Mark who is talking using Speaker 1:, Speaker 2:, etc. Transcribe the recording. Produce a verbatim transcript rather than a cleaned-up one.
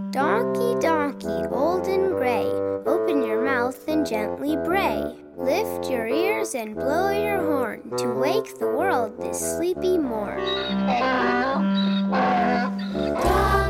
Speaker 1: Donkey, donkey, old and gray, open your mouth and gently bray. Lift your ears and blow your horn to wake the world this sleepy morn. Donkey,